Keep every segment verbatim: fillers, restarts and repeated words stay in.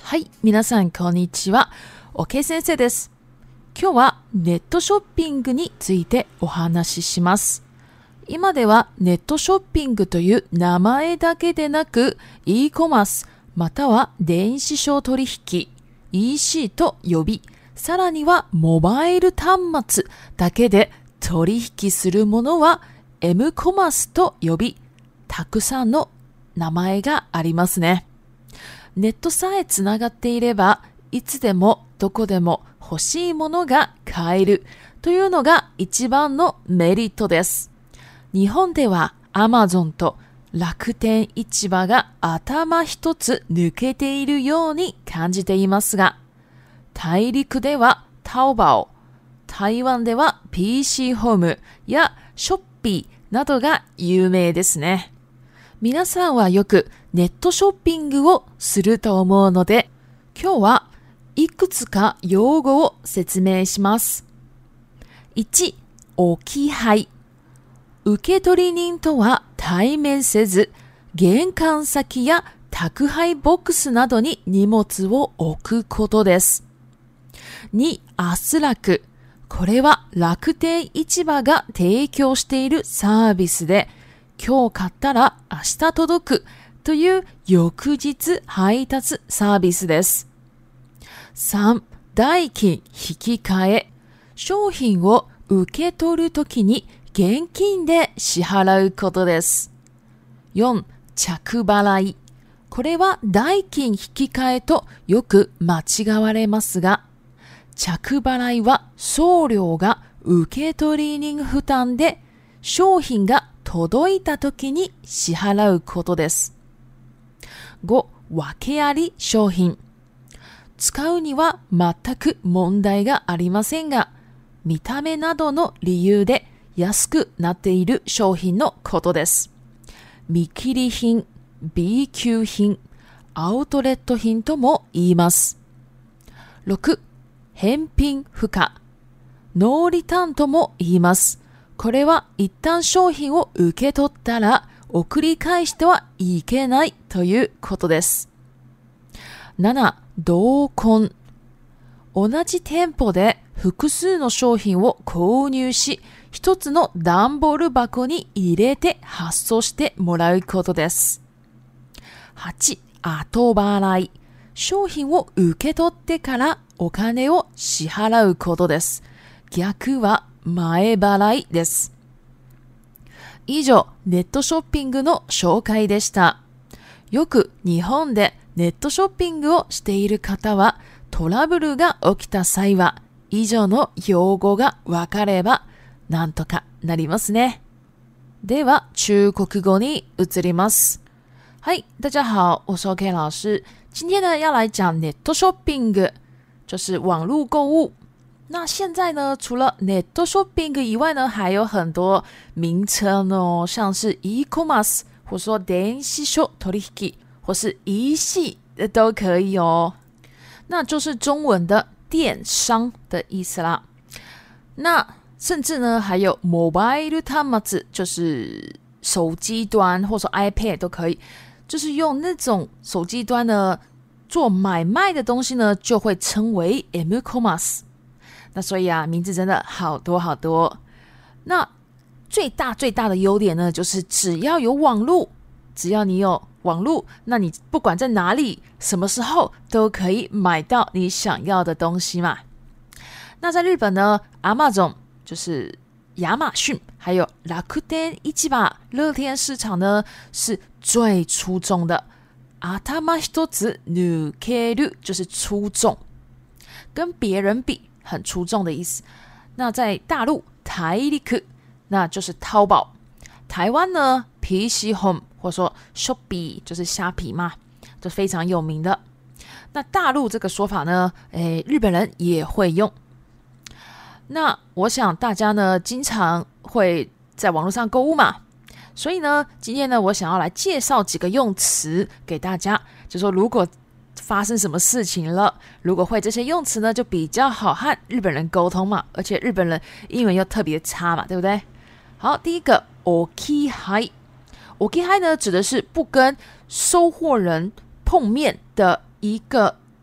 はい、皆さんこんにちは。OK 先生です。今日はネットショッピングについてお話しします。今ではネットショッピングという名前だけでなく e コマースまたは電子商取引 イーシー と呼び、さらにはモバイル端末だけで取引するものは M コマースと呼び、たくさんの名前がありますね。ネットさえつながっていれば、いつでもどこでも欲しいものが買えるというのが一番のメリットです。日本では Amazon と楽天市場が頭一つ抜けているように感じていますが、大陸ではタオバオ、台湾では ピーシー ホームやショッピーなどが有名ですね。皆さんはよくネットショッピングをすると思うので、今日はいくつか用語を説明します。いち、置き配。受取人とは対面せず、玄関先や宅配ボックスなどに荷物を置くことです。に、アスラク。これは楽天市場が提供しているサービスで、今日買ったら明日届くという翌日配達サービスです。さん、代金引き換え。商品を受け取るときに現金で支払うことです。よん、着払い。これは代金引き換えとよく間違われますが、着払いは送料が受取人負担で、商品が届いた時に支払うことです。ご、訳あり商品。使うには全く問題がありませんが、見た目などの理由で安くなっている商品のことです。見切り品、B 級品、アウトレット品とも言います。ろく、返品不可、ノーリターンとも言います。これは一旦商品を受け取ったら送り返してはいけないということです。なな、同梱。同じ店舗で複数の商品を購入し、一つの段ボール箱に入れて発送してもらうことです。はち、後払い。商品を受け取ってからお金を支払うことです。逆は前払いです。以上、ネットショッピングの紹介でした。よく日本でネットショッピングをしている方は、トラブルが起きた際は、以上の用語がわかれば、なんとかなりますね。では、中国語に移ります。はい、大家好，我是 OK 老师。今天呢，要来讲ネットショッピング，就是网络购物。那现在呢，除了ネットショッピング以外呢，还有很多名称哦，像是 e コマース，或说電子商取引，或是 イーシー 都可以哦。那就是中文的电商的意思啦。那甚至呢，还有 mobile 端末，就是手机端，或者说 iPad 都可以，就是用那种手机端呢做买卖的东西呢，就会称为 M コマース。那所以啊，名字真的好多好多。那最大最大的优点呢，就是只要有网路，只要你有网路，那你不管在哪里、什么时候都可以买到你想要的东西嘛。那在日本呢 ，Amazon 就是亚马逊，还有楽天市場乐天市场呢，是最出众的。頭一つ抜ける就是出众，跟别人比。很出众的意思。那在大陆台陸，那就是淘宝。台湾呢 P C Home 或者说 Shopee 就是虾皮嘛，这非常有名的。那大陆这个说法呢，诶，日本人也会用。那我想大家呢经常会在网络上购物嘛，所以呢今天呢我想要来介绍几个用词给大家，就说如果发生什么事情了，如果会这些用词呢，就比较好和日本人沟通嘛，而且日本人英文又特别差嘛，对不对？好，第一个 置き配。置き配呢指的是不跟收货人碰面的一个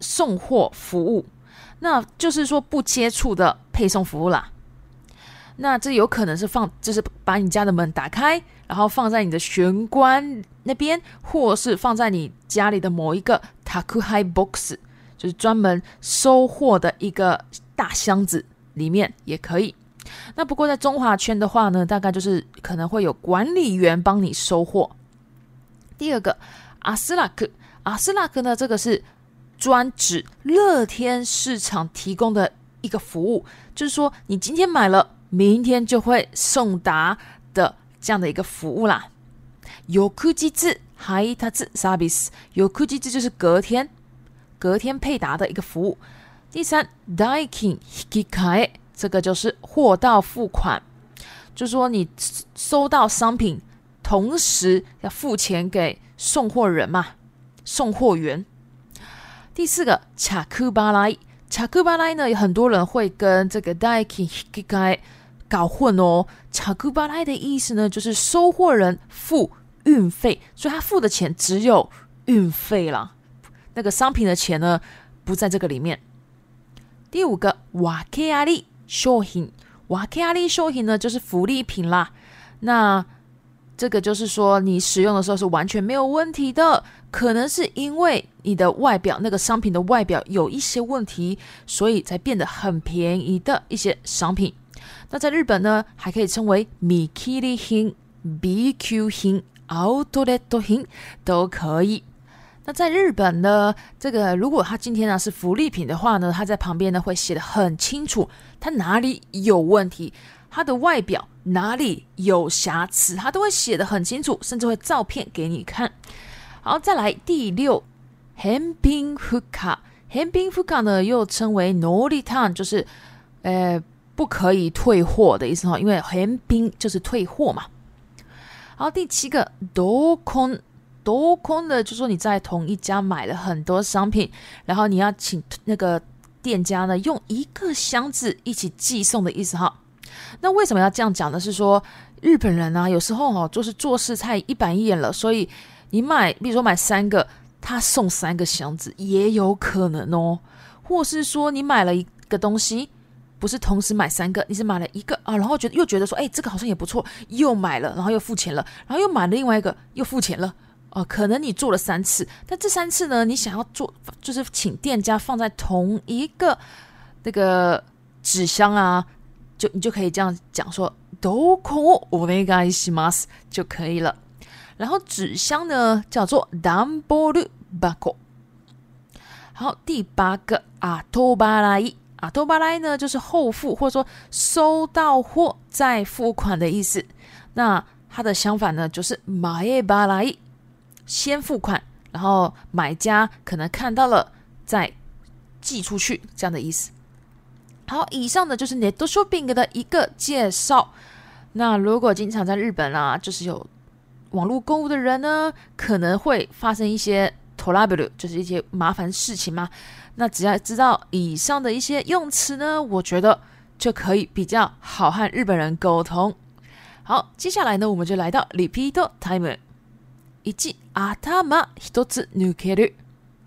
送货服务，那就是说不接触的配送服务啦。那这有可能是放，就是把你家的门打开，然后放在你的玄关那边，或是放在你家里的某一个 takuhai box， 就是专门收货的一个大箱子里面也可以。那不过在中华圈的话呢，大概就是可能会有管理员帮你收货。第二个阿斯拉克，阿斯拉克呢，这个是专指乐天市场提供的一个服务，就是说你今天买了，明天就会送达的这样的一个服务啦。翌日配達サービス，翌日就是隔天，隔天配达的一个服务。第三，代金引き換え，这个就是货到付款，就是说你收到商品，同时要付钱给送货人嘛，送货员。第四个，着払い，着払い呢，有很多人会跟这个代金引き換え搞混哦。着払い的意思呢，就是收货人付运费，所以他付的钱只有运费啦，那个商品的钱呢不在这个里面。第五个，訳あり商品，訳あり商品呢就是福利品啦。那这个就是说你使用的时候是完全没有问题的，可能是因为你的外表，那个商品的外表有一些问題，所以才变得很便宜的一些商品。那在日本呢，还可以称为見切り品、B級品、アウトレット品都可以。那在日本呢，这个如果它今天呢是福利品的话呢，它在旁边呢会写得很清楚，它哪里有问题，它的外表哪里有瑕疵，它都会写得很清楚，甚至会照片给你看。好，再来第六，返品不可。返品不可呢又称为 no return， 就是呃不可以退货的意思，因为返品就是退货嘛。好，第七个同梱，同梱的就是说你在同一家买了很多商品，然后你要请那个店家呢用一个箱子一起寄送的意思哈。那为什么要这样讲呢？是说日本人啊有时候哦就是做事太一板一眼了，所以你买比如说买三个，他送三个箱子也有可能哦。或是说你买了一个东西，不是同时买三个，你是买了一个啊，然后觉得又觉得说，哎，这个好像也不错，又买了，然后又付钱了，然后又买了另外一个，又付钱了，哦、呃，可能你做了三次，但这三次呢，你想要做，就是请店家放在同一个那个纸箱啊，就你就可以这样讲说，どこをお願いします就可以了。然后纸箱呢叫做段ボール箱。好，第八个後払い。後払い呢就是后付，或者说收到货再付款的意思。那它的相反呢就是前払い，先付款，然后买家可能看到了再寄出去这样的意思。好，以上的就是 Net Shopping 的一个介绍。那如果经常在日本啊，就是有网络购物的人呢，可能会发生一些トラブル，就是一些麻烦事情嘛。那只要知道以上的一些用詞呢，我觉得就可以比较好和日本人沟通。好，接下来呢，我们就来到 Repeat Time。一、頭一つ抜ける。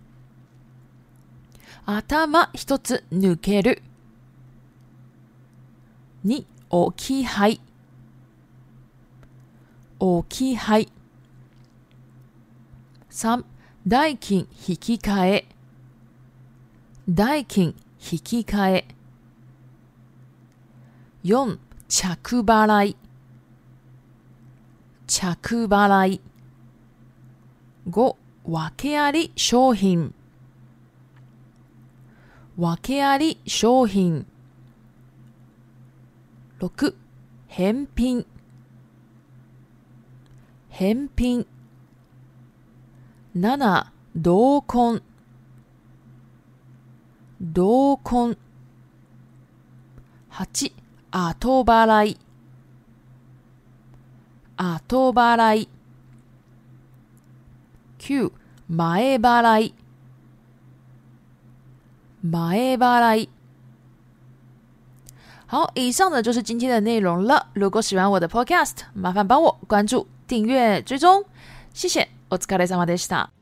頭一つ抜ける。二、置き配。置き配。三、代金引き換え。代金引き換え。四、着払い。着払い。五、訳あり商品。訳あり商品。六、返品。返品。七、同梱。同梱。八、後払い。後払い。九、前払い。前払い。好，以上的就是今天的内容了。如果喜欢我的 podcast， 麻烦帮我关注、订阅、追踪，谢谢。お疲れ様でした。